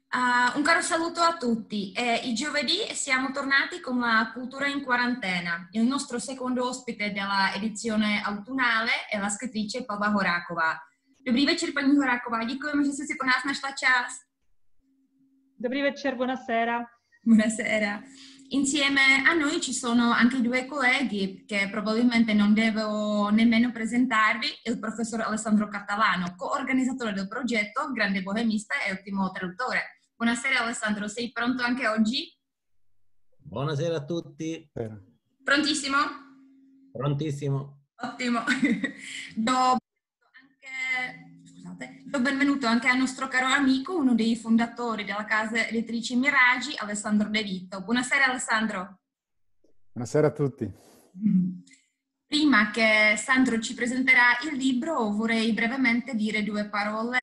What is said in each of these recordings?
Un caro saluto a tutti. Il giovedì siamo tornati con la cultura in quarantena. Il nostro secondo ospite della edizione autunnale è la scrittrice Pavla Horáková. Dobrý večer, paní Horáková. Děkujeme, že jste si pro nás našla čas. Dobrý večer, buonasera. Buonasera. Insieme a noi ci sono anche due colleghi che probabilmente non devo nemmeno presentarvi, il professor Alessandro Catalano, coorganizzatore del progetto, grande bohemista e ottimo traduttore. Buonasera Alessandro, sei pronto anche oggi? Buonasera a tutti. Prontissimo? Prontissimo. Ottimo. Do benvenuto anche al nostro caro amico, uno dei fondatori della casa editrice Miragi, Alessandro De Vito. Buonasera Alessandro. Buonasera a tutti. Prima che Sandro ci presenterà il libro, vorrei brevemente dire due parole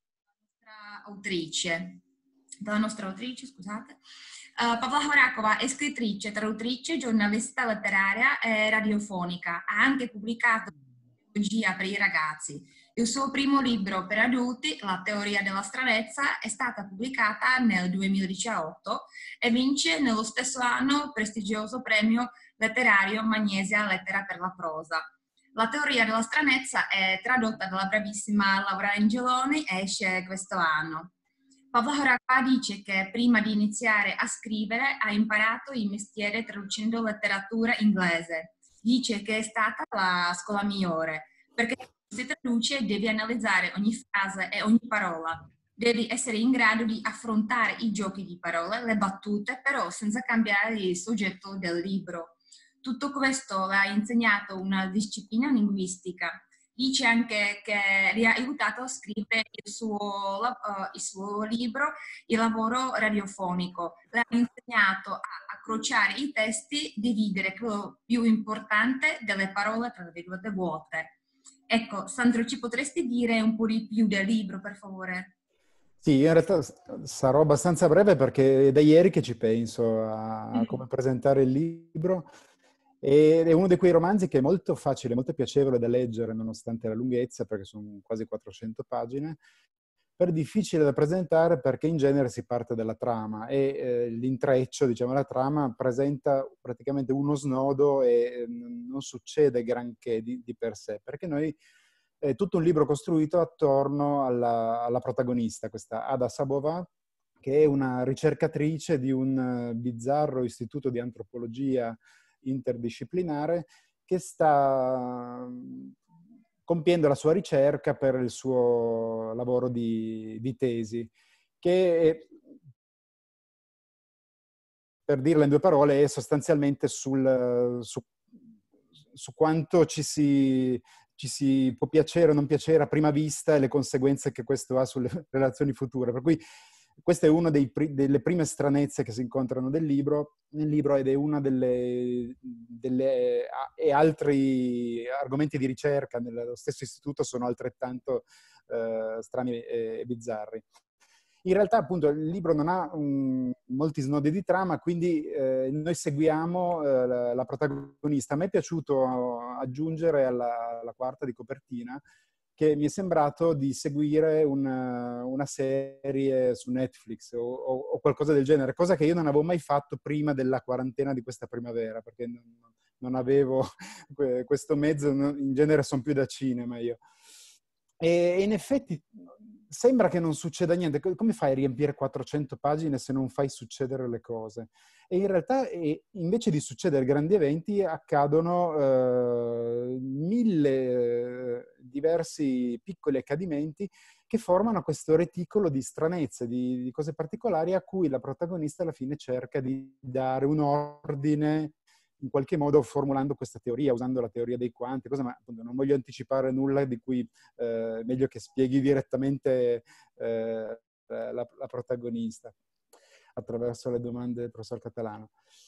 della nostra autrice, scusate. Pavla Horáková è scrittrice, traduttrice, giornalista letteraria e radiofonica. Ha anche pubblicato pedagogia per i ragazzi. Il suo primo libro per adulti, La teoria della stranezza, è stata pubblicata nel 2018 e vince nello stesso anno il prestigioso premio letterario Magnesia Lettera per la prosa. La teoria della stranezza è tradotta dalla bravissima Laura Angeloni e esce questo anno. Pavla Horáková dice che prima di iniziare a scrivere ha imparato il mestiere traducendo letteratura inglese. Dice che è stata la scuola migliore, perché si traduce devi analizzare ogni frase e ogni parola. Devi essere in grado di affrontare i giochi di parole, le battute, però senza cambiare il soggetto del libro. Tutto questo le ha insegnato una disciplina linguistica. Dice anche che gli ha aiutato a scrivere il suo libro, il lavoro radiofonico. Le ha insegnato a accrociare i testi, dividere quello più importante delle parole tra virgolette vuote. Ecco, Sandro, ci potresti dire un po' di più del libro, per favore? Sì, io in realtà sarò abbastanza breve perché è da ieri che ci penso a come presentare il libro. Ed è uno di quei romanzi che è molto facile, molto piacevole da leggere nonostante la lunghezza, perché sono quasi 400 pagine, però è difficile da presentare perché in genere si parte dalla trama e l'intreccio, diciamo, la trama presenta praticamente uno snodo e non succede granché di per sé, perché noi è tutto un libro costruito attorno alla protagonista, questa Ada Sabová, che è una ricercatrice di un bizzarro istituto di antropologia interdisciplinare che sta compiendo la sua ricerca per il suo lavoro di tesi, che per dirla in due parole è sostanzialmente su quanto ci si può piacere o non piacere a prima vista e le conseguenze che questo ha sulle relazioni future. Per cui questa è una delle prime stranezze che si incontrano nel libro ed è una e altri argomenti di ricerca nello stesso istituto sono altrettanto strani e bizzarri. In realtà, appunto, il libro non ha molti snodi di trama, quindi noi seguiamo la protagonista. A me è piaciuto aggiungere alla quarta di copertina che mi è sembrato di seguire una serie su Netflix o qualcosa del genere, cosa che io non avevo mai fatto prima della quarantena di questa primavera, perché non avevo questo mezzo, in genere sono più da cinema io. E in effetti sembra che non succeda niente. Come fai a riempire 400 pagine se non fai succedere le cose? E in realtà, invece di succedere grandi eventi, accadono 1000 diversi piccoli accadimenti che formano questo reticolo di stranezze, di cose particolari a cui la protagonista alla fine cerca di dare un ordine, in qualche modo formulando questa teoria, usando la teoria dei quanti, ma appunto non voglio anticipare nulla di cui meglio che spieghi direttamente la protagonista attraverso le domande del professor Catalano.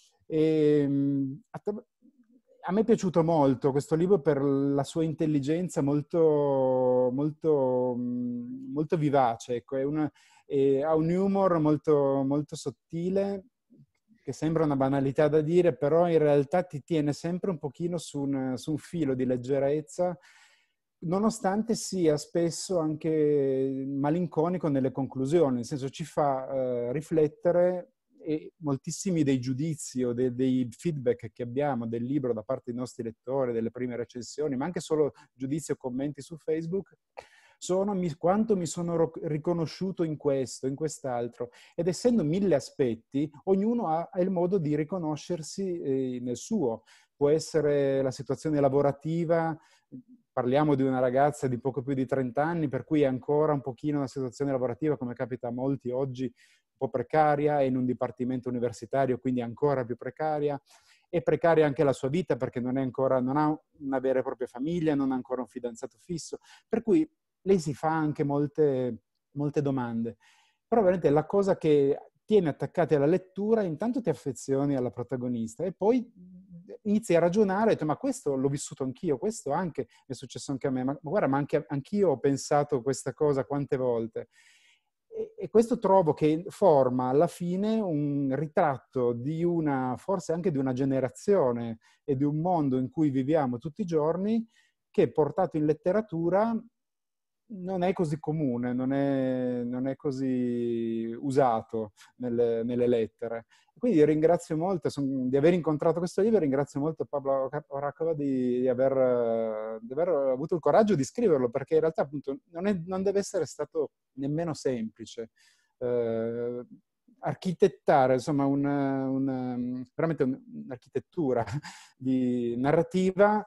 A me è piaciuto molto questo libro per la sua intelligenza molto, molto, molto vivace. Ecco, ha un humor molto, molto sottile, che sembra una banalità da dire, però in realtà ti tiene sempre un pochino su un filo di leggerezza nonostante sia spesso anche malinconico nelle conclusioni, nel senso ci fa riflettere, e moltissimi dei giudizi o dei feedback che abbiamo del libro da parte dei nostri lettori, delle prime recensioni, ma anche solo giudizi o commenti su Facebook, sono quanto mi sono riconosciuto in questo, in quest'altro. Ed essendo 1000 aspetti, ognuno ha il modo di riconoscersi nel suo. Può essere la situazione lavorativa, parliamo di una ragazza di poco più di 30 anni, per cui è ancora un pochino una situazione lavorativa, come capita a molti oggi, un po' precaria, è in un dipartimento universitario, quindi ancora più precaria. È precaria anche la sua vita perché non ha una vera e propria famiglia, non ha ancora un fidanzato fisso, per cui lei si fa anche molte domande. Però veramente la cosa che tiene attaccati alla lettura, intanto ti affezioni alla protagonista e poi inizi a ragionare, e detto, ma questo l'ho vissuto anch'io, questo anche è successo anche a me, ma guarda, ma anch'io ho pensato questa cosa quante volte. E questo trovo che forma alla fine un ritratto di forse anche di una generazione e di un mondo in cui viviamo tutti i giorni, che portato in letteratura non è così comune, non è così usato nelle lettere. Quindi ringrazio molto di aver incontrato questo libro, ringrazio molto Pavla Horakova di aver avuto il coraggio di scriverlo, perché in realtà appunto non deve essere stato nemmeno semplice. Architettare, insomma, veramente un'architettura di narrativa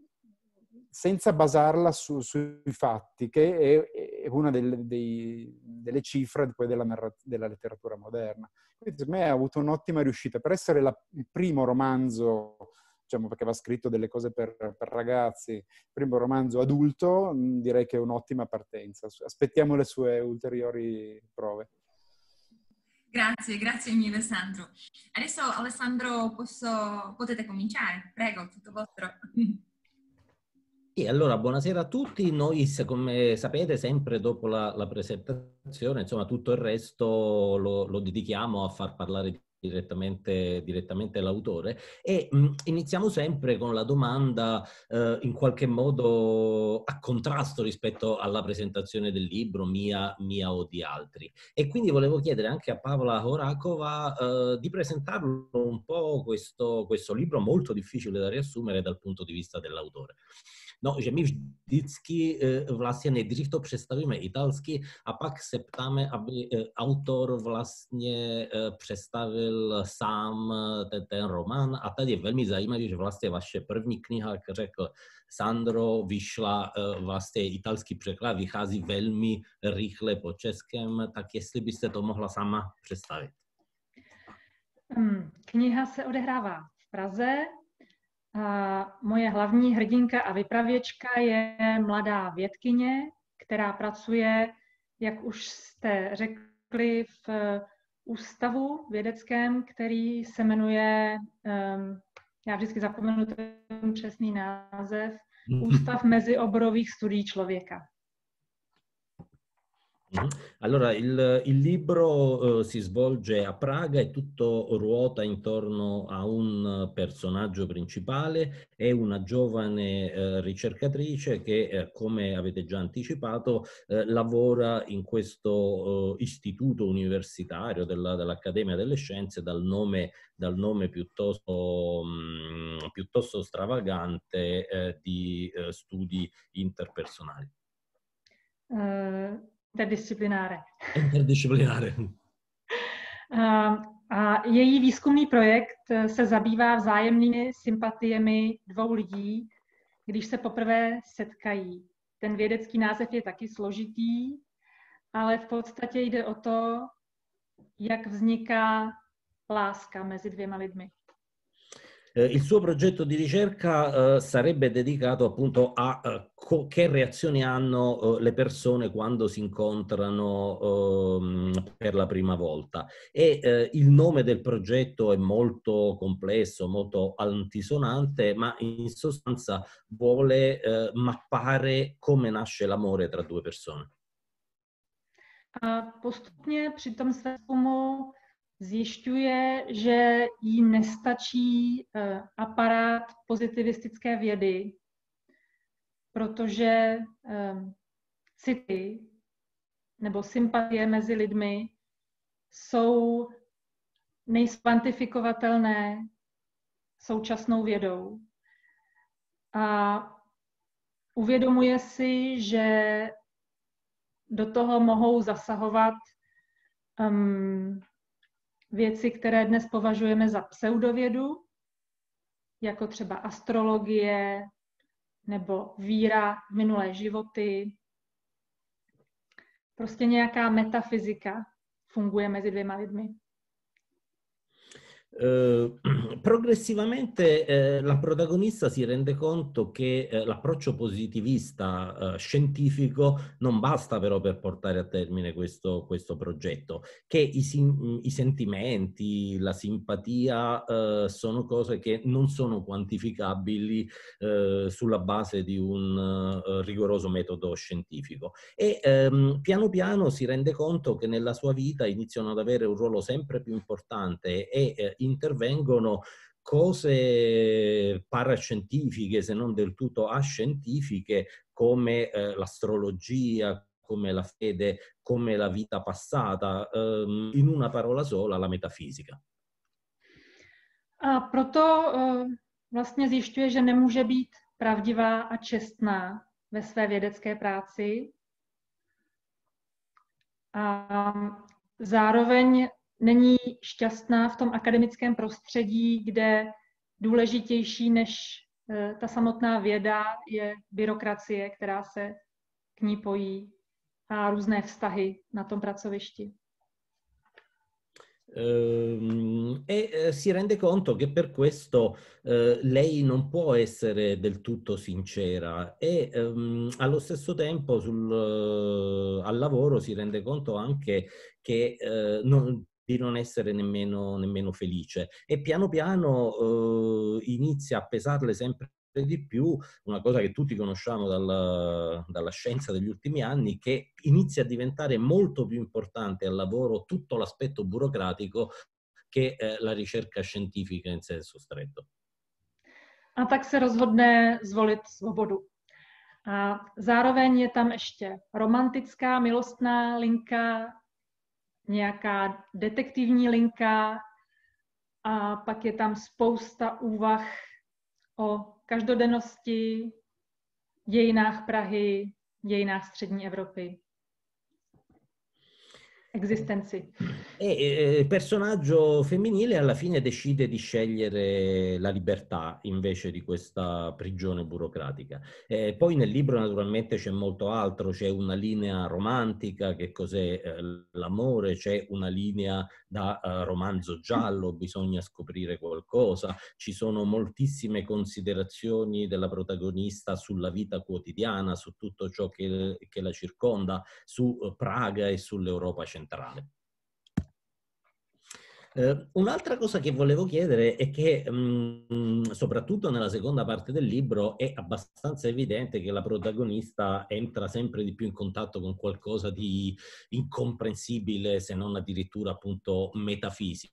senza basarla sui fatti, che è una delle cifre poi della letteratura moderna. Quindi per me ha avuto un'ottima riuscita. Per essere il primo romanzo, diciamo, perché va scritto delle cose per ragazzi, il primo romanzo adulto, direi che è un'ottima partenza. Aspettiamo le sue ulteriori prove. Grazie mille Sandro. Adesso Alessandro potete cominciare, prego, tutto vostro. E allora, buonasera a tutti. Noi, come sapete, sempre dopo la presentazione, insomma, tutto il resto lo dedichiamo a far parlare direttamente l'autore e iniziamo sempre con la domanda in qualche modo a contrasto rispetto alla presentazione del libro, mia o di altri. E quindi volevo chiedere anche a Pavla Horakova di presentarlo un po' questo libro molto difficile da riassumere dal punto di vista dell'autore. No, že my vždycky vlastně nejdřív to představíme italsky a pak se ptáme, aby autor vlastně představil sám ten román. A tady je velmi zajímavé, že vlastně vaše první kniha, jak řekl Sandro, vyšla vlastně italský překlad, vychází velmi rychle po českém, tak jestli byste to mohla sama představit. Kniha se odehrává v Praze. A moje hlavní hrdinka a vypravěčka je mladá vědkyně, která pracuje, jak už jste řekli, v ústavu vědeckém, který se jmenuje, já vždycky zapomenu ten přesný název, Ústav mezioborových studií člověka. Allora, il libro si svolge a Praga e tutto ruota intorno a un personaggio principale e una giovane ricercatrice che, come avete già anticipato, lavora in questo istituto universitario dell'Accademia delle Scienze dal nome piuttosto stravagante di studi interpersonali. Interdisciplinare. Interdisciplinare. A její výzkumný projekt se zabývá vzájemnými sympatiemi dvou lidí, když se poprvé setkají. Ten vědecký název je taky složitý, ale v podstatě jde o to, jak vzniká láska mezi dvěma lidmi. Il suo progetto di ricerca sarebbe dedicato appunto a che reazioni hanno le persone quando si incontrano per la prima volta. E il nome del progetto è molto complesso, molto altisonante, ma in sostanza vuole mappare come nasce l'amore tra due persone. A postupně při tom výzkumu zjišťuje, že jí nestačí aparát pozitivistické vědy, protože city nebo sympatie mezi lidmi nejsou kvantifikovatelné současnou vědou. A uvědomuje si, že do toho mohou zasahovat věci, které dnes považujeme za pseudovědu, jako třeba astrologie nebo víra v minulé životy. Prostě nějaká metafyzika funguje mezi dvěma lidmi. Progressivamente la protagonista si rende conto che l'approccio positivista scientifico non basta però per portare a termine questo progetto, che i sentimenti, la simpatia sono cose che non sono quantificabili sulla base di un rigoroso metodo scientifico. E piano piano si rende conto che nella sua vita iniziano ad avere un ruolo sempre più importante e intervengono cose parascientifiche, se non del tutto ascientifiche, come l'astrologia, come la fede, come la vita passata, in una parola sola, la metafisica. A proto vlastně zjišťuje, že nemůže být pravdivá a čestná ve své vědecké práci. A zároveň není šťastná v tom akademickém prostředí, kde důležitější než ta samotná věda je byrokracie, která se k ní pojí, a různé vztahy na tom pracovišti. E si rende conto che per questo lei non può essere del tutto sincera e allo stesso tempo al lavoro si rende conto anche che di non essere nemmeno felice, e piano piano inizia a pesarle sempre di più una cosa che tutti conosciamo dalla scienza degli ultimi anni, che inizia a diventare molto più importante al lavoro tutto l'aspetto burocratico che la ricerca scientifica in senso stretto. A tak se rozhodne zvolit svobodu. A zároveň je tam ještě romantická, milostná linka, nějaká detektivní linka a pak je tam spousta úvah o každodennosti, dějinách Prahy, dějinách střední Evropy. Existenzi. E il personaggio femminile alla fine decide di scegliere la libertà invece di questa prigione burocratica. Poi nel libro naturalmente c'è molto altro, c'è una linea romantica, che cos'è l'amore, c'è una linea da romanzo giallo, bisogna scoprire qualcosa, ci sono moltissime considerazioni della protagonista sulla vita quotidiana, su tutto ciò che la circonda, su Praga e sull'Europa centrale. Un'altra cosa che volevo chiedere è che soprattutto nella seconda parte del libro è abbastanza evidente che la protagonista entra sempre di più in contatto con qualcosa di incomprensibile, se non addirittura appunto metafisico.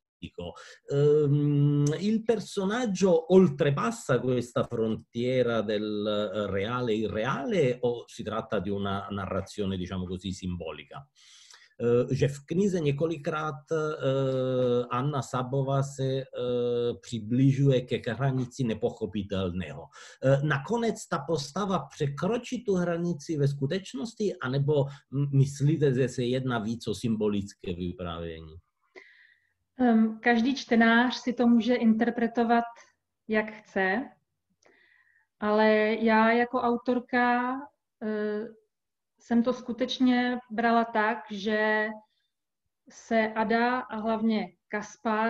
Il personaggio oltrepassa questa frontiera del reale e irreale, o si tratta di una narrazione, diciamo così, simbolica? Že v knize několikrát Anna Sabová se přibližuje ke hranici nepochopitelného. Nakonec ta postava překročí tu hranici ve skutečnosti, anebo myslíte, že se jedná víc o symbolické vyprávění? Každý čtenář si to může interpretovat, jak chce, ale já jako autorka jsem to skutečně brala tak, že se Ada a hlavně Kaspar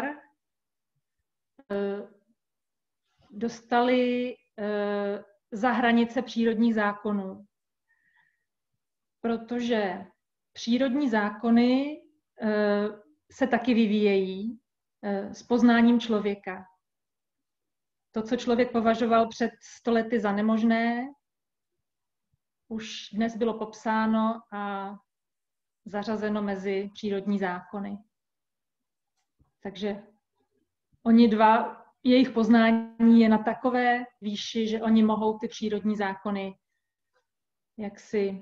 dostali za hranice přírodních zákonů. Protože přírodní zákony se taky vyvíjejí s poznáním člověka. To, co člověk považoval před 100 lety za nemožné, už dnes bylo popsáno a zařazeno mezi přírodní zákony. Takže oni dva, jejich poznání je na takové výši, že oni mohou ty přírodní zákony jaksi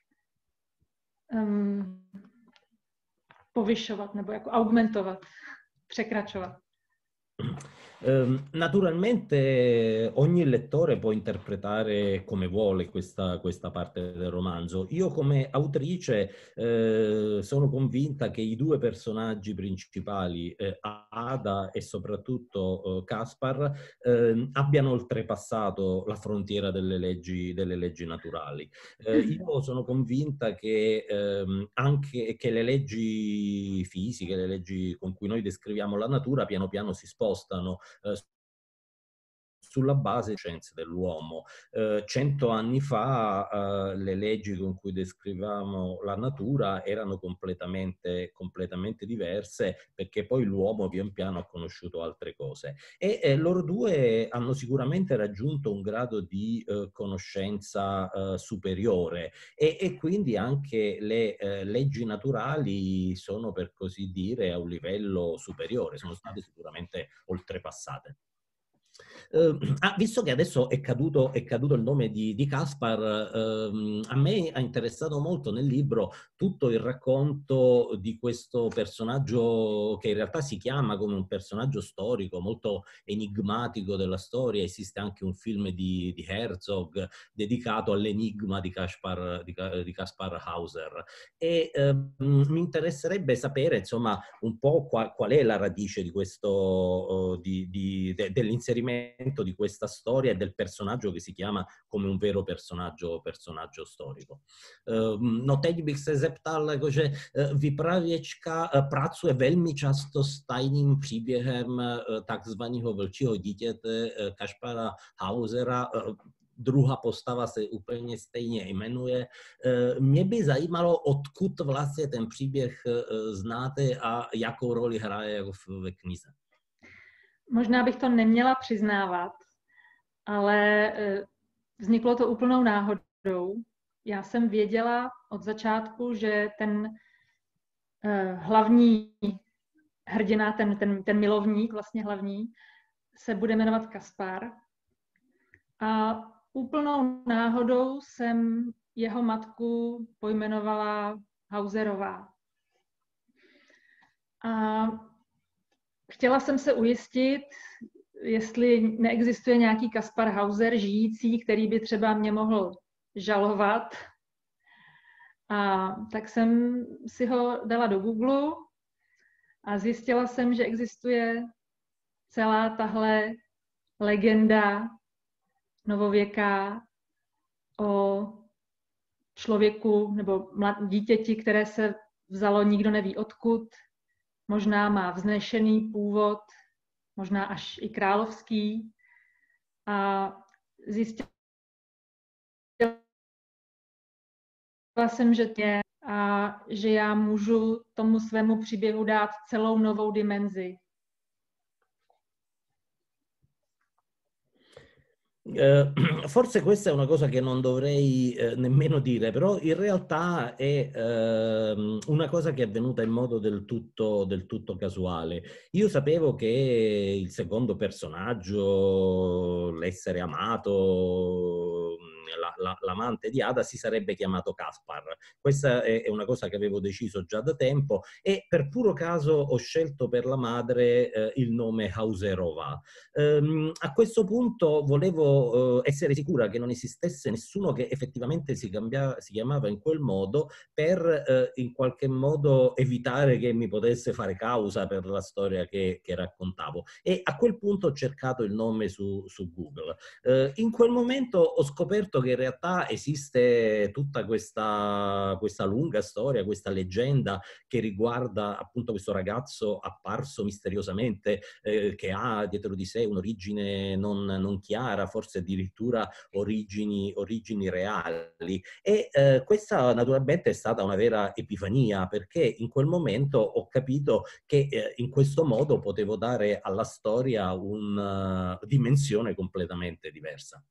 povyšovat nebo jako augmentovat, překračovat. Naturalmente ogni lettore può interpretare come vuole questa parte del romanzo. Io come autrice sono convinta che i due personaggi principali, Ada e soprattutto Caspar, abbiano oltrepassato la frontiera delle leggi naturali. Io sono convinta che anche che le leggi fisiche, le leggi con cui noi descriviamo la natura, piano piano si spostano sulla base delle scienze dell'uomo. 100 anni fa le leggi con cui descrivevamo la natura erano completamente diverse, perché poi l'uomo pian piano ha conosciuto altre cose. E loro due hanno sicuramente raggiunto un grado di conoscenza superiore e quindi anche le leggi naturali sono, per così dire, a un livello superiore, sono state sicuramente oltrepassate. Visto che adesso è caduto il nome di Caspar, a me ha interessato molto nel libro tutto il racconto di questo personaggio che in realtà si chiama come un personaggio storico, molto enigmatico della storia. Esiste anche un film di Herzog dedicato all'enigma di Caspar Hauser. E mi interesserebbe sapere, insomma, un po' qual è la radice di questo, dell'inserimento di questa storia e del personaggio che si chiama come un vero personaggio storico. No teď bych se zeptal, jakože Vypravěčka pracuje velmi často s tajným příběhem takzvaného vlčího dítěte Kaspara Hausera. Druhá postava se úplně stejně jmenuje. Mě by zajímalo, odkud vlastně ten příběh znáte a jakou roli hraje ve knize. Možná bych to neměla přiznávat, ale vzniklo to úplnou náhodou. Já jsem věděla od začátku, že ten hlavní hrdina, ten milovník, vlastně hlavní, se bude jmenovat Kaspar. A úplnou náhodou jsem jeho matku pojmenovala Hauserová. A chtěla jsem se ujistit, jestli neexistuje nějaký Kaspar Hauser žijící, který by třeba mě mohl žalovat. A tak jsem si ho dala do Google a zjistila jsem, že existuje celá tahle legenda novověká o člověku nebo dítěti, které se vzalo nikdo neví odkud. Možná má vznešený původ, možná až i královský. A zjistila jsem, že já můžu tomu svému příběhu dát celou novou dimenzi. Forse questa è una cosa che non dovrei nemmeno dire, però in realtà è una cosa che è avvenuta in modo del tutto casuale. Io sapevo che il secondo personaggio, l'essere amato, l'amante di Ada, si sarebbe chiamato Caspar. Questa è una cosa che avevo deciso già da tempo e per puro caso ho scelto per la madre il nome Hauserova. A questo punto volevo essere sicura che non esistesse nessuno che effettivamente si chiamava in quel modo per in qualche modo evitare che mi potesse fare causa per la storia che raccontavo. E a quel punto ho cercato il nome su Google. In quel momento ho scoperto che in realtà esiste tutta questa lunga storia, questa leggenda che riguarda appunto questo ragazzo apparso misteriosamente che ha dietro di sé un'origine non chiara, forse addirittura origini reali. E questa naturalmente è stata una vera epifania, perché in quel momento ho capito che in questo modo potevo dare alla storia una dimensione completamente diversa.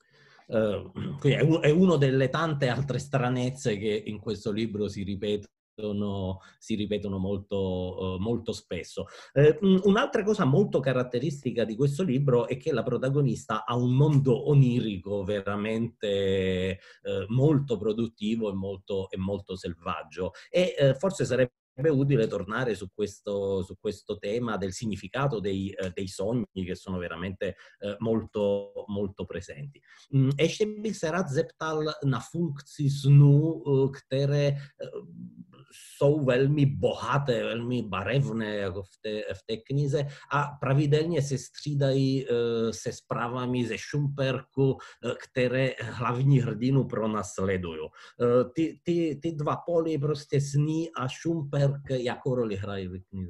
Quindi è una delle tante altre stranezze che in questo libro si ripetono ripetono molto, molto spesso. Un'altra cosa molto caratteristica di questo libro è che la protagonista ha un mondo onirico veramente molto produttivo e molto selvaggio, e forse sarebbe utile tornare su questo tema del significato dei sogni, che sono veramente molto, molto presenti. Ještě bych se rád zeptal na funkci snů, které jsou velmi bohaté, velmi barevné jako v té knize a pravidelně se střídají se zprávami ze Šumperku, které hlavní hrdinu pronásledují. Ty dva póly, prostě sny a Šumperk, jakou roli hrají v knize?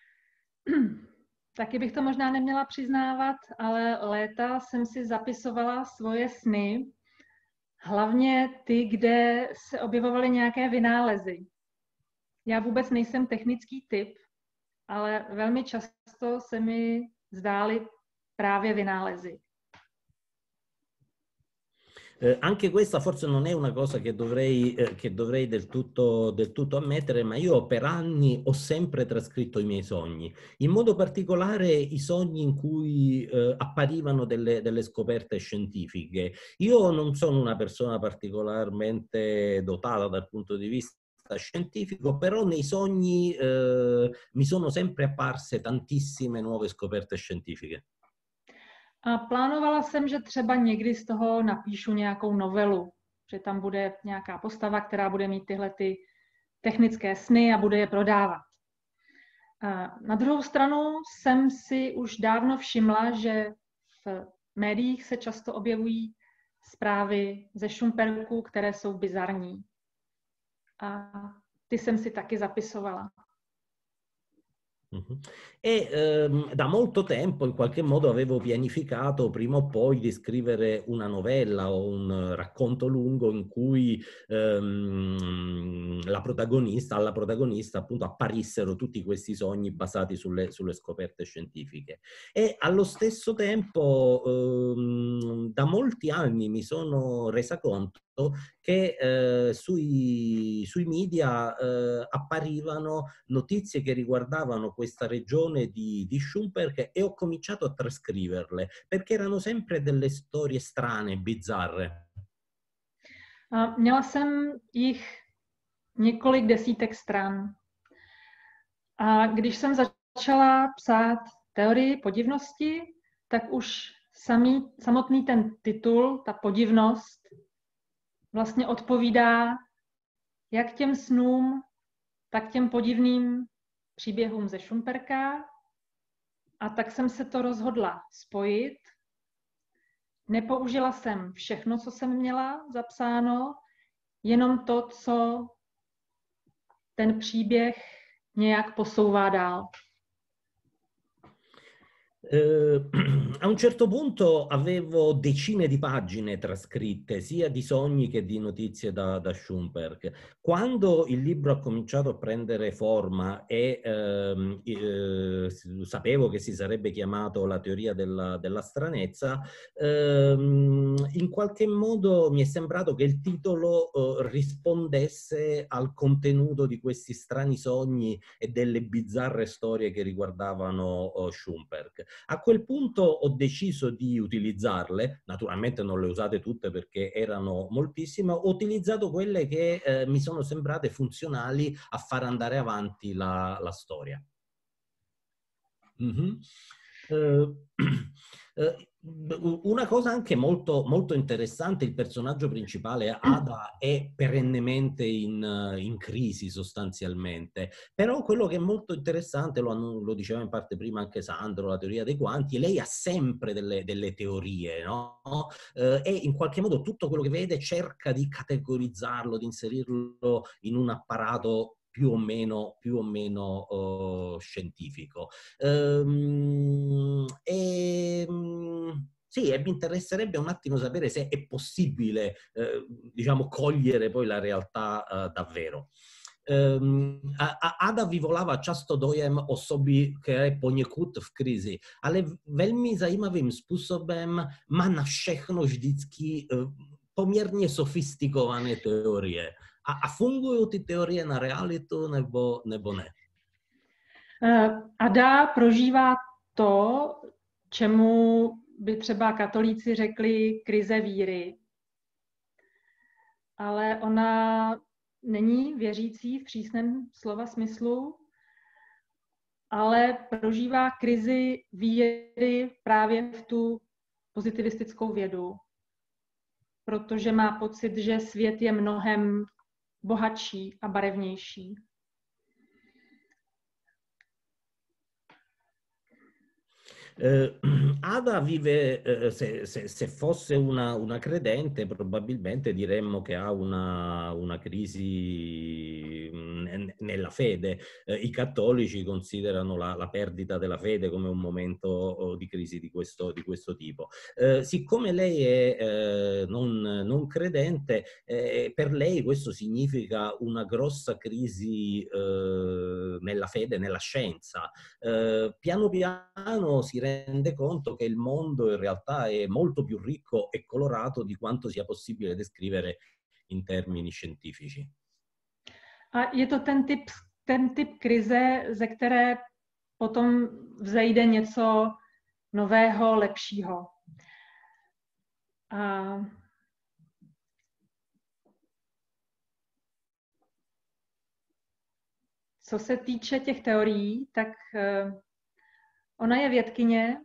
Taky bych to možná neměla přiznávat, ale léta jsem si zapisovala svoje sny, hlavně ty, kde se objevovaly nějaké vynálezy. Já vůbec nejsem technický typ, ale velmi často se mi zdály právě vynálezy. Anche questa forse non è una cosa che dovrei del tutto ammettere, ma io per anni ho sempre trascritto i miei sogni, in modo particolare i sogni in cui apparivano delle scoperte scientifiche. Io non sono una persona particolarmente dotata dal punto di vista scientifico, però nei sogni mi sono sempre apparse tantissime nuove scoperte scientifiche. A plánovala jsem, že třeba někdy z toho napíšu nějakou novelu, že tam bude nějaká postava, která bude mít tyhle ty technické sny a bude je prodávat. A na druhou stranu jsem si už dávno všimla, že v médiích se často objevují zprávy ze Šumperku, které jsou bizarní. A ty jsem si taky zapisovala. E da molto tempo in qualche modo avevo pianificato prima o poi di scrivere una novella o un racconto lungo in cui alla protagonista appunto apparissero tutti questi sogni basati sulle scoperte scientifiche. E allo stesso tempo da molti anni mi sono resa conto che sui media apparivano notizie che riguardavano questa regione di Šumperk, e ho cominciato a trascriverle perché erano sempre delle storie strane, bizzarre. Měla jsem jich několik desítek stran. A když jsem začala psát teorii podivnosti, tak už samotný ten titul, ta podivnost, vlastně odpovídá jak těm snům, tak těm podivným příběhům ze Šumperka. A tak jsem se to rozhodla spojit. Nepoužila jsem všechno, co jsem měla zapsáno, jenom to, co ten příběh nějak posouvá dál. A un certo punto avevo decine di pagine trascritte, sia di sogni che di notizie da Šumperk. Quando il libro ha cominciato a prendere forma e sapevo che si sarebbe chiamato La teoria della stranezza, in qualche modo mi è sembrato che il titolo rispondesse al contenuto di questi strani sogni e delle bizzarre storie che riguardavano Šumperk. A quel punto ho deciso di utilizzarle, naturalmente non le ho usate tutte perché erano moltissime, ho utilizzato quelle che mi sono sembrate funzionali a far andare avanti la storia. Una cosa anche molto, molto interessante, il personaggio principale Ada è perennemente in crisi sostanzialmente, però quello che è molto interessante, lo diceva in parte prima anche Sandro, la teoria dei quanti, lei ha sempre delle teorie, no? E in qualche modo tutto quello che vede cerca di categorizzarlo, di inserirlo in un apparato più o meno scientifico. Sì, e mi interesserebbe un attimo sapere se è possibile, diciamo, cogliere poi la realtà davvero. Ada vyvolává často dojem osoby, která je poněkud v krizi, ale velmi zajímavým způsobem má na všechno vždycky poměrně sofistikované teorie. A fungují ty teorie na realitu nebo ne? Ada prožívá to, čemu by třeba katolíci řekli krize víry. Ale ona není věřící v přísném slova smyslu, ale prožívá krizi víry právě v tu pozitivistickou vědu, protože má pocit, že svět je mnohem bohatší a barevnější. Ada vive, se fosse una credente, probabilmente diremmo che ha una crisi nella fede. I cattolici considerano la perdita della fede come un momento di crisi di questo tipo. Siccome lei è non credente, per lei questo significa una grossa crisi nella fede, nella scienza. Piano piano si rende conto che il mondo in realtà è molto più ricco e colorato di quanto sia possibile descrivere in termini scientifici. A je to ten typ krize, ze které potom vzejde něco nového, lepšího. A co se týče těch teorií, tak ona je vědkyně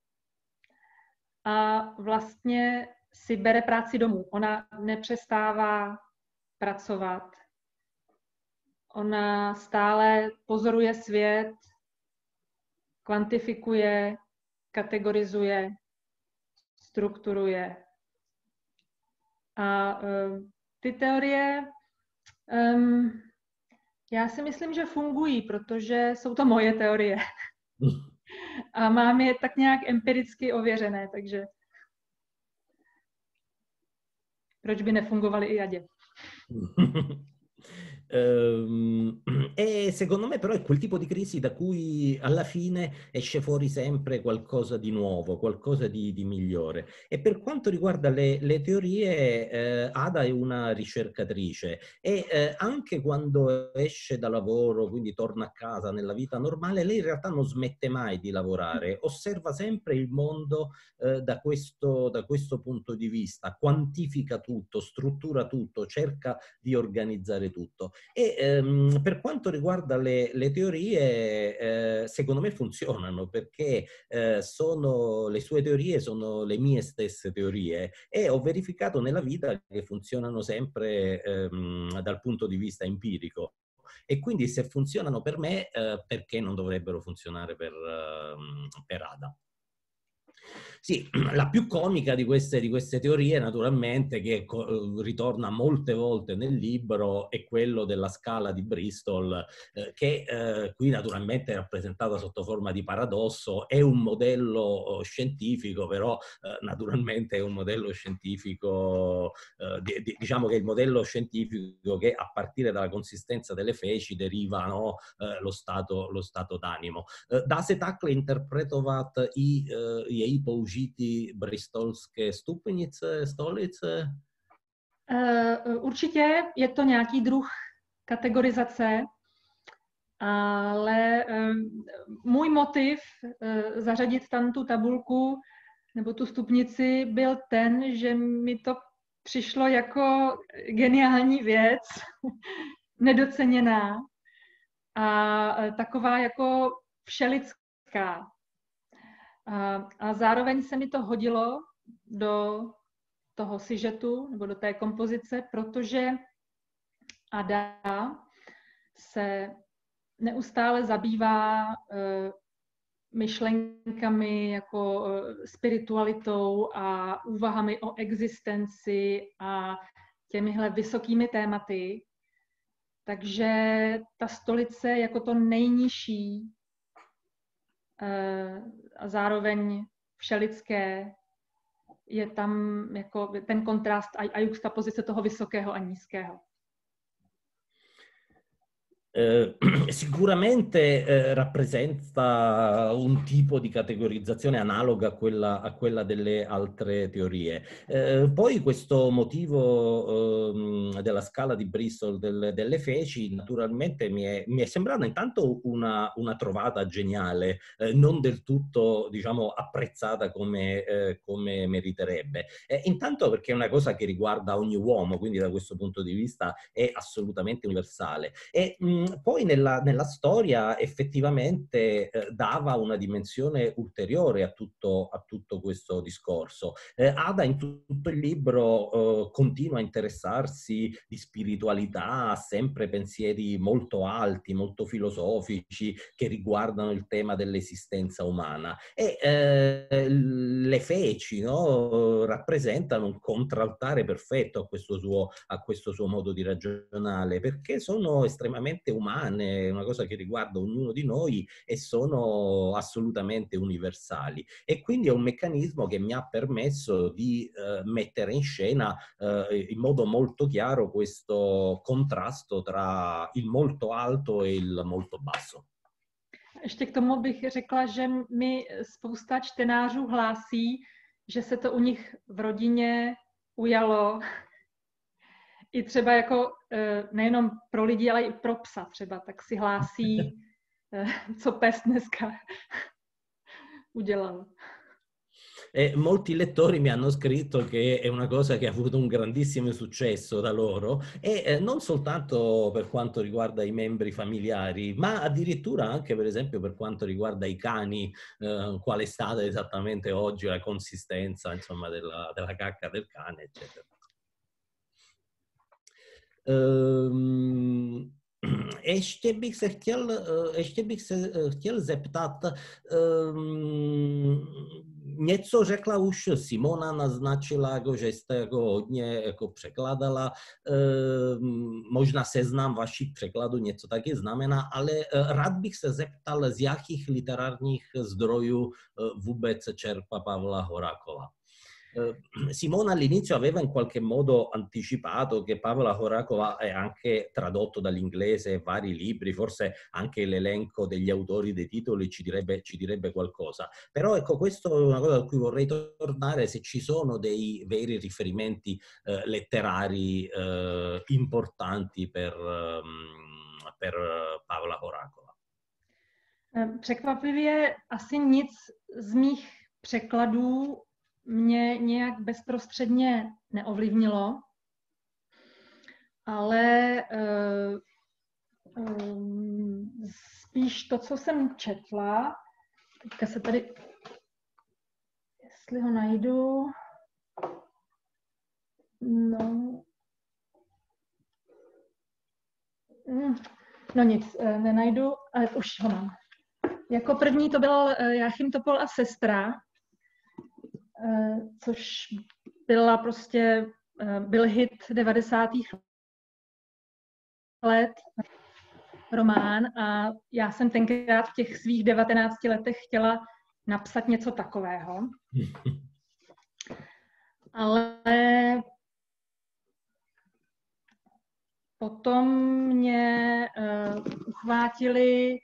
a vlastně si bere práci domů. Ona nepřestává pracovat. Ona stále pozoruje svět, kvantifikuje, kategorizuje, strukturuje. A ty teorie, já si myslím, že fungují, protože jsou to moje teorie. A mám je tak nějak empiricky ověřené, takže proč by nefungovaly i Adě? E secondo me però è quel tipo di crisi da cui alla fine esce fuori sempre qualcosa di nuovo, qualcosa di migliore. E per quanto riguarda le teorie, Ada è una ricercatrice e anche quando esce da lavoro, quindi torna a casa nella vita normale, lei in realtà non smette mai di lavorare, osserva sempre il mondo da questo punto di vista, quantifica tutto, struttura tutto, cerca di organizzare tutto. E per quanto riguarda le teorie, secondo me funzionano perché le sue teorie sono le mie stesse teorie e ho verificato nella vita che funzionano sempre dal punto di vista empirico. E quindi se funzionano per me, perché non dovrebbero funzionare per Ada? Sì, la più comica di queste teorie, naturalmente, che ritorna molte volte nel libro, è quello della scala di Bristol, che qui naturalmente è rappresentata sotto forma di paradosso. È un modello scientifico, però naturalmente è un modello scientifico, diciamo che è il modello scientifico che a partire dalla consistenza delle feci deriva, no, lo stato d'animo. Dá se takhle interpretovat i její použití bristolské stupnice, stolice? Určitě je to nějaký druh kategorizace, ale můj motiv zařadit tam tu tabulku nebo tu stupnici byl ten, že mi to přišlo jako geniální věc, nedoceněná a taková jako všelidská. A zároveň se mi to hodilo do toho sižetu nebo do té kompozice, protože Ada se neustále zabývá myšlenkami jako spiritualitou a úvahami o existenci a těmihle vysokými tématy. Takže ta stolice jako to nejnižší a zároveň všelidské je tam jako ten kontrast a juxtapozice toho vysokého a nízkého. Sicuramente rappresenta un tipo di categorizzazione analoga a quella delle altre teorie. Poi questo motivo della scala di Bristol delle feci naturalmente mi è sembrata intanto una trovata geniale, non del tutto, diciamo, apprezzata come meriterebbe. Intanto perché è una cosa che riguarda ogni uomo, quindi da questo punto di vista è assolutamente universale. E poi nella storia effettivamente dava una dimensione ulteriore a tutto questo discorso. Ada in tutto il libro continua a interessarsi di spiritualità, ha sempre pensieri molto alti, molto filosofici che riguardano il tema dell'esistenza umana, e le feci, no, rappresentano un contraltare perfetto a questo suo modo di ragionare, perché sono estremamente umane, una cosa che riguarda ognuno di noi, e sono assolutamente universali. E quindi è un meccanismo che mi ha permesso di mettere in scena in modo molto chiaro questo contrasto tra il molto alto e il molto basso. Ještě k tomu bych řekla, že mi spousta čtenářů hlásí, že se to u nich v rodině ujalo. I třeba jako nejenom pro lidi, ale i pro psa třeba, tak si hlásí, co pes dneska udělal. E molti lettori mi hanno scritto che è una cosa che ha avuto un grandissimo successo da loro, e non soltanto per quanto riguarda i membri familiari, ma addirittura anche per esempio per quanto riguarda i cani, qual è stata esattamente oggi la consistenza, insomma, della cacca del cane, eccetera. Ještě bych se chtěl zeptat, něco řekla už Simona, naznačila, jako, že jste jako hodně jako překladala, možná seznam vašich překladů něco taky znamená, ale rád bych se zeptal, z jakých literárních zdrojů vůbec čerpa Pavla Horakova. Simona all'inizio aveva in qualche modo anticipato che Pavla Horakova è anche tradotto dall'inglese vari libri, forse anche l'elenco degli autori dei titoli ci direbbe qualcosa. Però ecco, questo è una cosa a cui vorrei tornare, se ci sono dei veri riferimenti letterari importanti per Pavla Horakova. Překvapivě asi nic z mých překladů mě nějak bezprostředně neovlivnilo, ale spíš to, co jsem četla, teďka se tady, jestli ho najdu, no nic, nenajdu, ale už ho mám. Jako první to byl Jáchym Topol a sestra, což byl hit 90. let, román, a já jsem tenkrát v těch svých 19 letech chtěla napsat něco takového. Ale potom mě uchvátily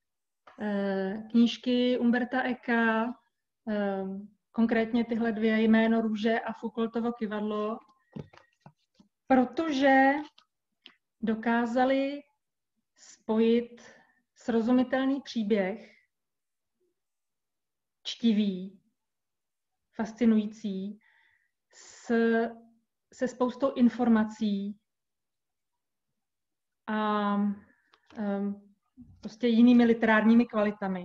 knížky Umberta Ecka, konkrétně tyhle dvě, Jméno růže a Foucaultovo kyvadlo, protože dokázali spojit srozumitelný příběh, čtivý, fascinující, se spoustou informací a prostě jinými literárními kvalitami.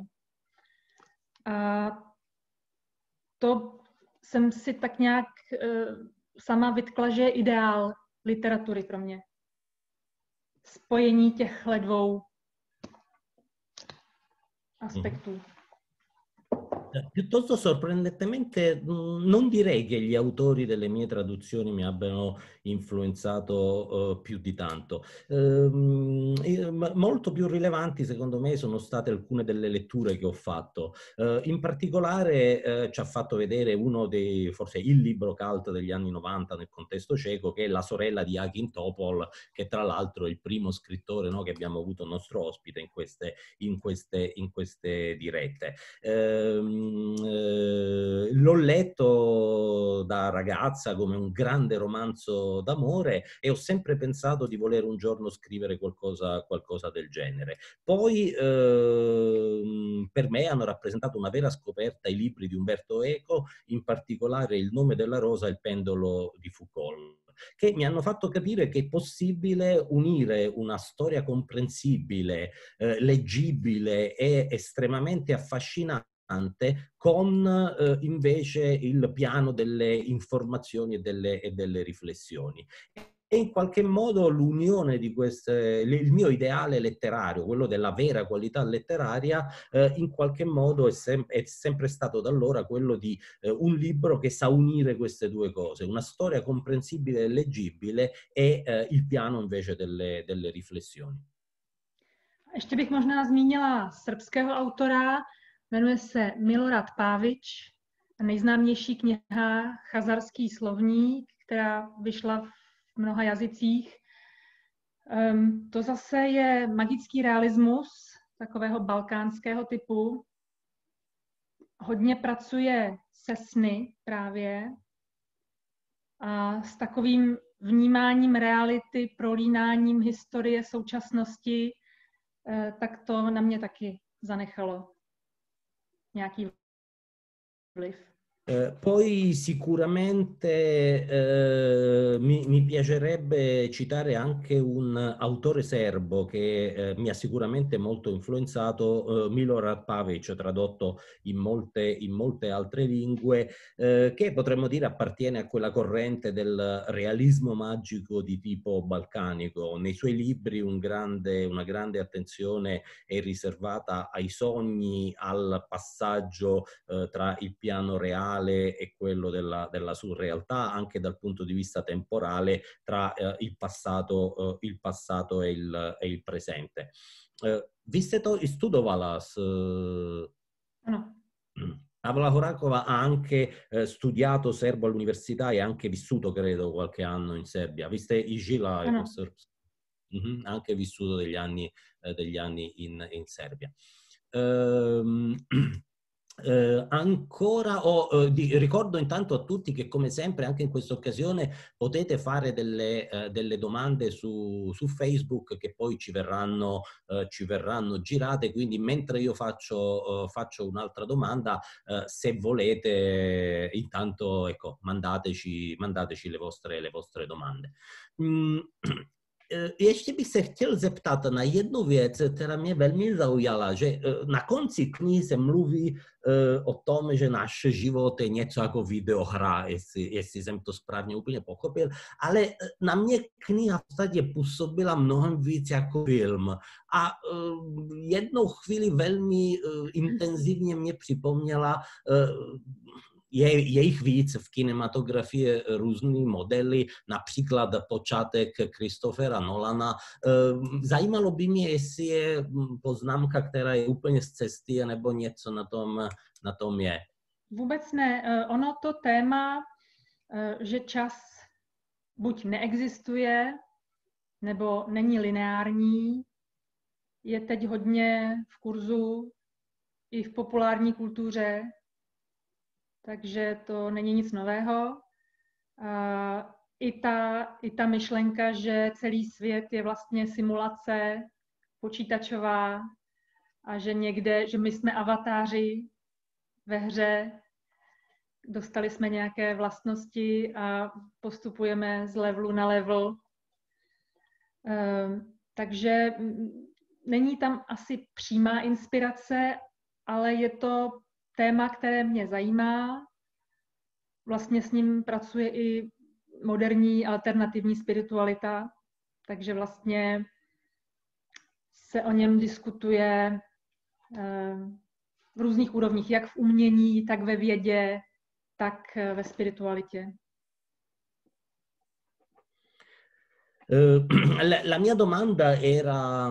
A to jsem si tak nějak sama vytkla, že je ideál literatury pro mě. Spojení těchto dvou aspektů. Piuttosto sorprendentemente non direi che gli autori delle mie traduzioni mi abbiano influenzato più di tanto. Molto più rilevanti secondo me sono state alcune delle letture che ho fatto. In particolare ci ha fatto vedere uno dei, forse il libro cult degli anni 90 nel contesto ceco, che è La sorella di Akin Topol, che tra l'altro è il primo scrittore, no, che abbiamo avuto nostro ospite in queste dirette. L'ho letto da ragazza come un grande romanzo d'amore e ho sempre pensato di voler un giorno scrivere qualcosa del genere. Poi per me hanno rappresentato una vera scoperta i libri di Umberto Eco, in particolare Il nome della rosa e Il pendolo di Foucault, che mi hanno fatto capire che è possibile unire una storia comprensibile, leggibile e estremamente affascinante con invece il piano delle informazioni e delle riflessioni. E in qualche modo l'unione di queste, il mio ideale letterario, quello della vera qualità letteraria, in qualche modo è sempre stato da allora quello di un libro che sa unire queste due cose, una storia comprensibile e leggibile e il piano invece delle riflessioni. Ještě bych možná zmínila srbského autora, jmenuje se Milorad Pavić, nejznámější kniha Chazarský slovník, která vyšla v mnoha jazycích. To zase je magický realismus takového balkánského typu. Hodně pracuje se sny právě a s takovým vnímáním reality, prolínáním historie, současnosti, tak to na mě taky zanechalo nějaký vliv. Poi sicuramente mi piacerebbe citare anche un autore serbo che mi ha sicuramente molto influenzato, Milorad Pavić, tradotto in molte altre lingue, che potremmo dire appartiene a quella corrente del realismo magico di tipo balcanico. Nei suoi libri una grande attenzione è riservata ai sogni, al passaggio tra il piano reale e quello della surrealtà, anche dal punto di vista temporale, tra il passato e il presente. Vy jste to i studovala Ano. Pavla Horakova ha anche studiato serbo all'università e anche vissuto, credo, qualche anno in Serbia. Vi ste i žila, ha anche vissuto degli anni in Serbia. Ricordo intanto a tutti che come sempre anche in questa occasione potete fare delle domande su Facebook che poi ci verranno girate, quindi mentre io faccio un'altra domanda, se volete intanto ecco, mandateci le vostre domande. Ještě bych se chtěl zeptat na jednu věc, která mě velmi zaujala, že na konci knihy se mluví o tom, že náš život je něco jako videohra, jestli jsem to správně úplně pochopil, ale na mě kniha v podstatě působila mnohem víc jako film a jednou chvíli velmi intenzivně mě připomněla je jich víc v kinematografii různý modely, například počátek Christophera Nolana. Zajímalo by mě, jestli je poznámka, která je úplně z cesty, nebo něco na tom je. Vůbec ne. Ono to téma, že čas buď neexistuje, nebo není lineární, je teď hodně v kurzu i v populární kultuře, takže to není nic nového. I ta myšlenka, že celý svět je vlastně simulace počítačová a že že my jsme avatáři ve hře, dostali jsme nějaké vlastnosti a postupujeme z levelu na level. Takže není tam asi přímá inspirace, ale je to téma, které mě zajímá. Vlastně s ním pracuje i moderní alternativní spiritualita, takže vlastně se o něm diskutuje v různých úrovních, jak v umění, tak ve vědě, tak ve spiritualitě. La mia domanda era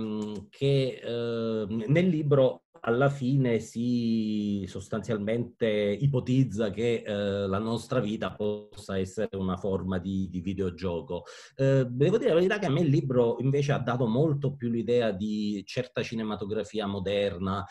che nel libro alla fine si sostanzialmente ipotizza che la nostra vita possa essere una forma di videogioco. Devo dire la verità che a me il libro invece ha dato molto più l'idea di certa cinematografia moderna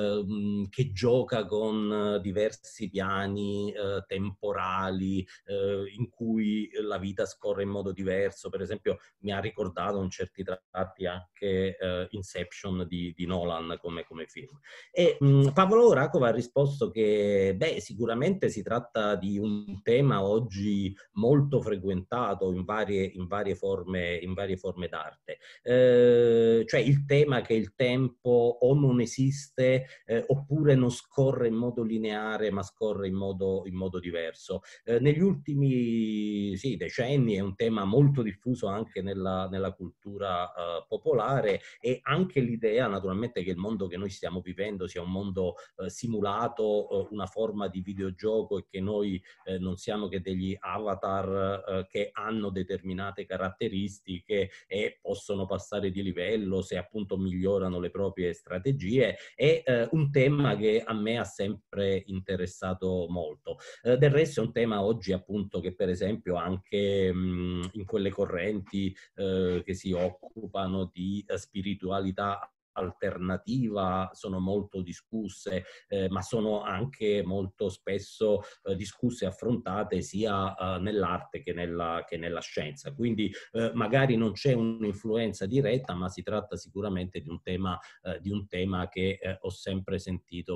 che gioca con diversi piani temporali in cui la vita scorre in modo diverso. Per esempio mi ha ricordato in certi tratti anche Inception di Nolan come film. E Pavlo Rakov ha risposto che sicuramente si tratta di un tema oggi molto frequentato in varie forme d'arte, cioè il tema che il tempo o non esiste oppure non scorre in modo lineare ma scorre in modo diverso. Negli ultimi decenni è un tema molto diffuso anche nella cultura popolare, e anche l'idea naturalmente che il mondo che noi stiamo vivendo sia un mondo simulato, una forma di videogioco, e che noi non siamo che degli avatar che hanno determinate caratteristiche e possono passare di livello se appunto migliorano le proprie strategie, è un tema che a me ha sempre interessato molto. Del resto è un tema oggi appunto che per esempio anche in quelle correnti che si occupano di spiritualità alternativa sono molto discusse, ma sono anche molto spesso discusse e affrontate sia nell'arte che nella scienza. Quindi magari non c'è un'influenza diretta, ma si tratta sicuramente di un tema che ho sempre sentito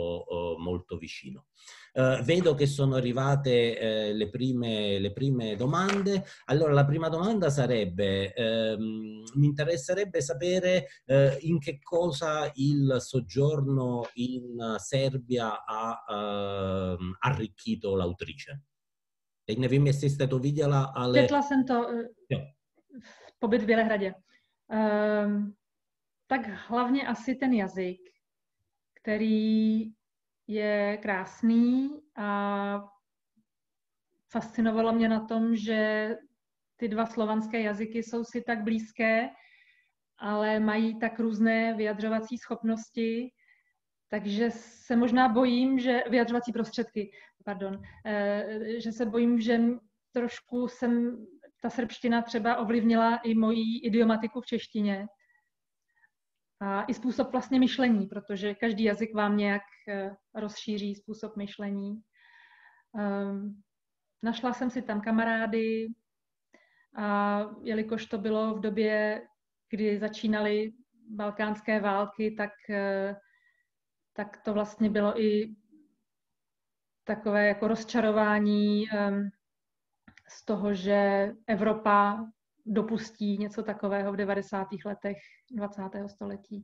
molto vicino. Vedo che sono arrivate le prime domande. Allora, la prima domanda sarebbe, mi interesserebbe sapere in che cosa il soggiorno in Serbia ha arricchito l'autrice. Teď nevím, jestli jste to viděla, ale... Četla jsem to, pobyt v Bělehradě. Tak hlavně asi ten jazyk, který je krásný, a fascinovalo mě na tom, že ty dva slovanské jazyky jsou si tak blízké, ale mají tak různé vyjadřovací schopnosti, takže se možná bojím, že vyjadřovací prostředky, že se bojím, že trošku ta srbština třeba ovlivnila i moji idiomatiku v češtině. A i způsob vlastně myšlení, protože každý jazyk vám nějak rozšíří způsob myšlení. Našla jsem si tam kamarády, a jelikož to bylo v době, kdy začínaly balkánské války, tak to vlastně bylo i takové jako rozčarování z toho, že Evropa dopustí něco takového v 90. letech 20. století.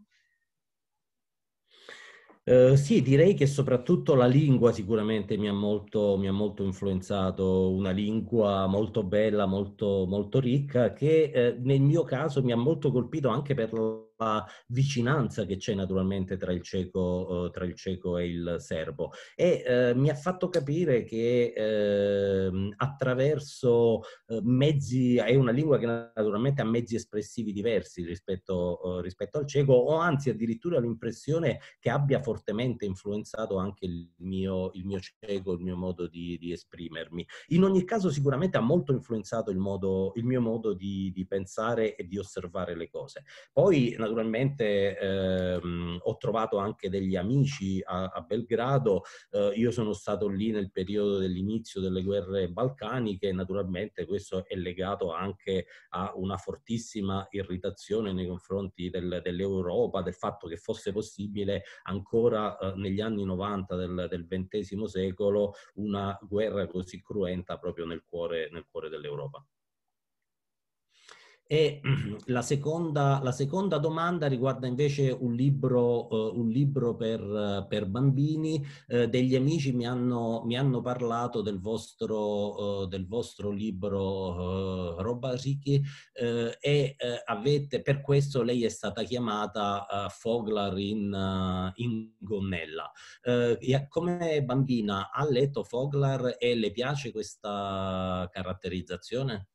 Sì, direi che soprattutto la lingua sicuramente mi ha molto influenzato, una lingua molto bella, molto ricca, che nel mio caso mi ha molto colpito anche per la vicinanza che c'è naturalmente tra il ceco e il serbo, e mi ha fatto capire che attraverso mezzi, è una lingua che naturalmente ha mezzi espressivi diversi rispetto al ceco, o anzi addirittura l'impressione che abbia fortemente influenzato anche il mio ceco, il mio modo di esprimermi. In ogni caso sicuramente ha molto influenzato il mio modo di pensare e di osservare le cose. Poi naturalmente ho trovato anche degli amici a Belgrado. Io sono stato lì nel periodo dell'inizio delle guerre balcaniche, e naturalmente questo è legato anche a una fortissima irritazione nei confronti dell'Europa, del fatto che fosse possibile ancora negli anni 90 del XX secolo una guerra così cruenta proprio nel cuore dell'Europa. E la seconda domanda riguarda invece un libro per bambini. Degli amici mi hanno parlato del vostro libro Robasicchi, e per questo lei è stata chiamata Foglar in gonnella. Come bambina ha letto Foglar e le piace questa caratterizzazione?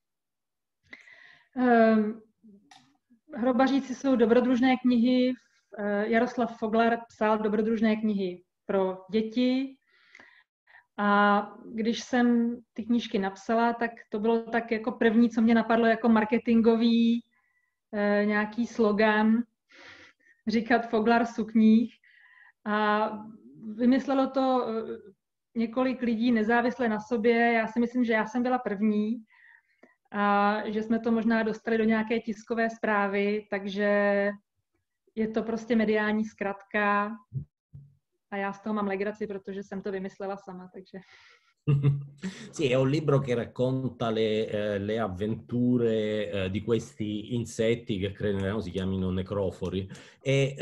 Hrobaříci jsou dobrodružné knihy. Jaroslav Foglar psal dobrodružné knihy pro děti. A když jsem ty knížky napsala, tak to bylo tak jako první, co mě napadlo jako marketingový nějaký slogan, říkat Foglar sukních. A vymyslelo to několik lidí nezávisle na sobě. Já si myslím, že já jsem byla první a že jsme to možná dostali do nějaké tiskové zprávy, takže je to prostě mediální zkratka a já z toho mám legraci, protože jsem to vymyslela sama, takže... Sì, è un libro che racconta le avventure di questi insetti che credo si chiamino necrofori, e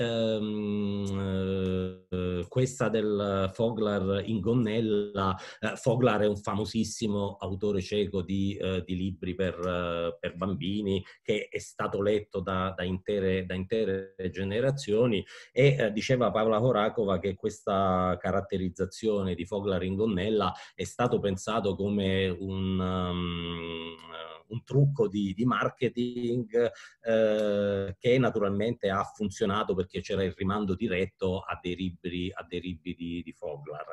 questa del Foglar in gonnella. Foglar è un famosissimo autore ceco di libri per bambini, che è stato letto da intere generazioni, e diceva Pavla Horakova che questa caratterizzazione di Foglar in gonnella è stato pensato come un trucco di marketing che naturalmente ha funzionato perché c'era il rimando diretto a dei libri di Foglar.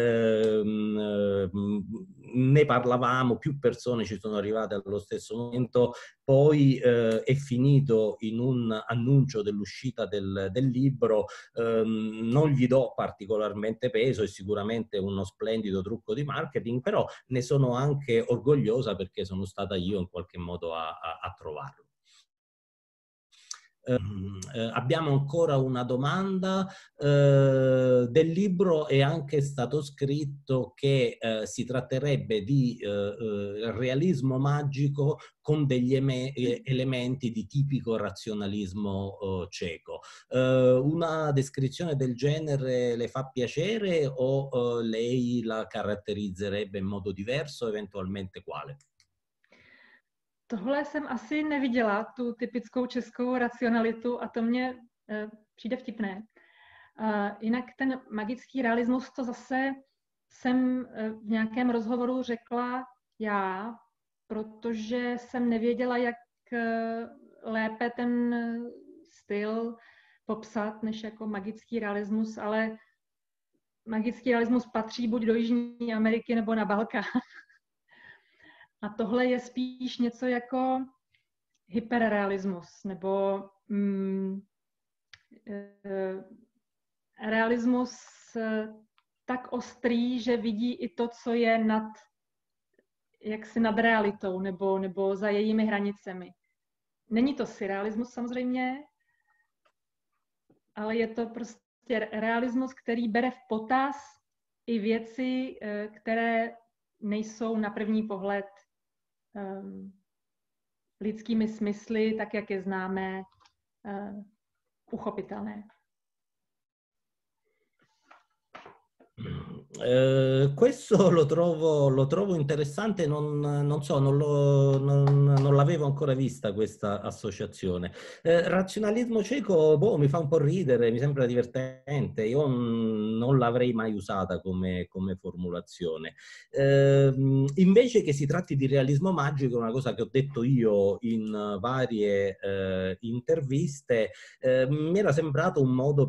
Ne parlavamo, più persone ci sono arrivate allo stesso momento, poi è finito in un annuncio dell'uscita del libro. Non gli do particolarmente peso, è sicuramente uno splendido trucco di marketing, però ne sono anche orgogliosa perché sono stata io in qualche modo a trovarlo. Abbiamo ancora una domanda. Del libro è anche stato scritto che si tratterebbe di realismo magico con degli elementi di tipico razionalismo ceco. Una descrizione del genere le fa piacere o lei la caratterizzerebbe in modo diverso, eventualmente quale? Tohle jsem asi neviděla, tu typickou českou racionalitu, a to mně přijde vtipné. Jinak ten magický realismus, to zase jsem v nějakém rozhovoru řekla já, protože jsem nevěděla, jak lépe ten styl popsat, než jako magický realismus, ale magický realismus patří buď do Jižní Ameriky nebo na Balkán. A tohle je spíš něco jako hyperrealismus, nebo realismus tak ostrý, že vidí i to, co je jaksi nad realitou, nebo za jejími hranicemi. Není to surrealismus samozřejmě, ale je to prostě realismus, který bere v potaz i věci, které nejsou na první pohled lidskými smysly, tak jak je známe, uchopitelné. Questo lo trovo interessante, non l'avevo ancora vista questa associazione. Razionalismo ceco, mi fa un po' ridere, mi sembra divertente, io non l'avrei mai usata come formulazione. Invece che si tratti di realismo magico, una cosa che ho detto io in varie interviste, mi era sembrato un modo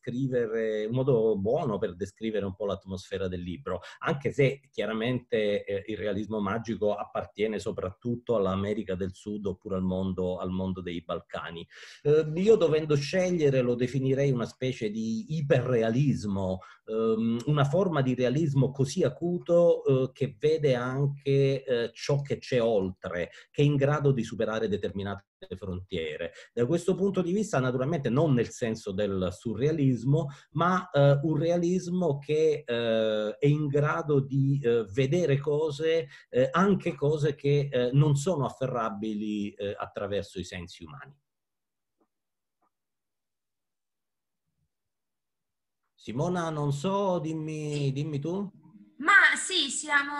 buono per descrivere un po' l'atmosfera del libro, anche se chiaramente il realismo magico appartiene soprattutto all'America del Sud oppure al mondo dei Balcani. Io, dovendo scegliere, lo definirei una specie di iperrealismo, una forma di realismo così acuto che vede anche ciò che c'è oltre, che è in grado di superare determinate frontiere. Da questo punto di vista, naturalmente, non nel senso del surrealismo, ma un realismo che è in grado di vedere cose, anche cose che non sono afferrabili attraverso i sensi umani. Simona, non so, dimmi tu. Ma sì, siamo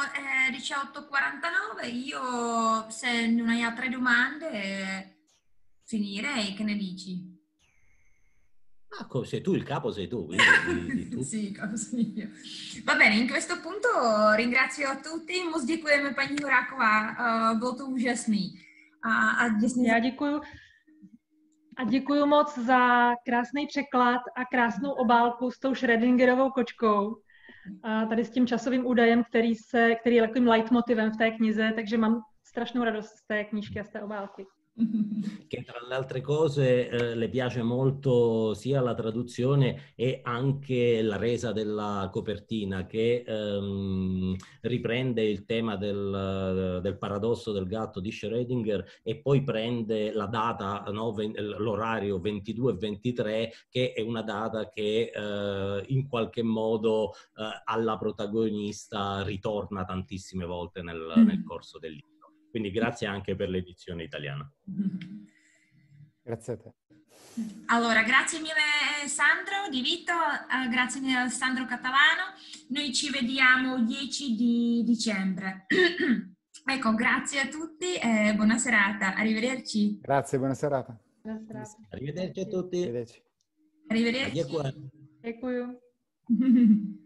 18:49, io se non hai altre domande finirei, che ne dici? Ah, sei tu il capo, sei tu, quindi di tu. Sì, caso io. Va bene, in questo punto ringrazio tutti, moc děkujeme paní Horáková, bylo to úžasný. A Já děkuju. A děkuju moc za krásný překlad a krásnou obálku s tou Schrödingerovou kočkou. A tady s tím časovým údajem, který je takovým leitmotivem v té knize, takže mám strašnou radost z té knížky a z té obálky. Che tra le altre cose le piace molto sia la traduzione e anche la resa della copertina, che riprende il tema del paradosso del gatto di Schrödinger e poi prende la data, no, l'orario 22:23, che è una data che in qualche modo alla protagonista ritorna tantissime volte nel corso del libro. Quindi grazie anche per l'edizione italiana. Grazie a te. Allora, grazie mille Sandro Di Vito, grazie mille Alessandro Catalano. Noi ci vediamo 10 di dicembre. Ecco, grazie a tutti e buona serata. Arrivederci. Grazie, buona serata. Buona serata. Arrivederci a tutti. Arrivederci. Arrivederci. Děkuju.